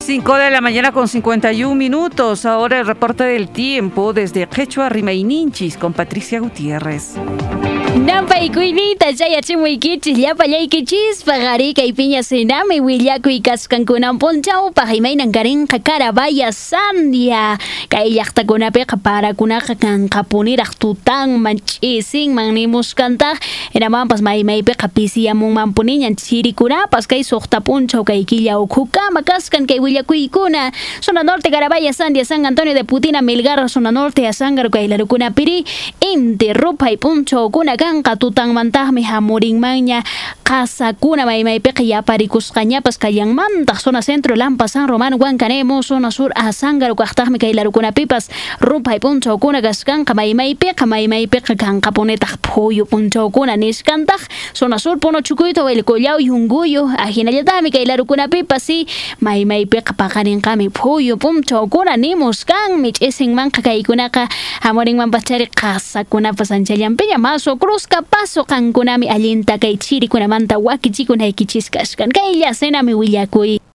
5 de la mañana con 51 minutos. Ahora el reporte del tiempo desde Quechua, Rimaininchis, con Patricia Gutiérrez. Nampay kuylita chayachimuykichis llapallaykichis pagarika y piña senami willaku y kaskankunan ponchaw pajimainan karinqa Carabaya Sandia kay llaqtakunapiqa parakunaqa kanqa puniraq tutanman ch'isinman nimuskantaq hinamanpas maymaypiqa pisiyamunman puniñan chirikunapas kay suqta punchaw kay killa ukhukama kaskan kay willakuykuna zona norte Carabaya Sandia San Antonio de Putina Milgar zona norte Azángaro kay larukunapiri inti ruphay punchawkuna kanqa tutanmantaqmi hamurinmanña qasakuna maymaypiqa yaparikusqañapas kallanmantaq zona centro Lampa San Román Huancanemo zona sur Azángaro kaqtaqmi kay larukunapipas ruphay punchawkuna kaskanqa maymaypiqa kanqa punitaq phuyu punchawkuna niskantaq zona sur Puno Chukuyta Willcollaw Yunguyo ajinallataqmi kay larukunapipas si maymaypiqa paqarinqami phuyu punchawkuna nimuskanmi ch'isinmanqa kaykunaqa hamurinmanpas chari qasakunapas anchallanpiña maso Cruzca paso kankunami allinta kay chirikunamanta wakichikunaykichis kashkan kay llasenami willakuy.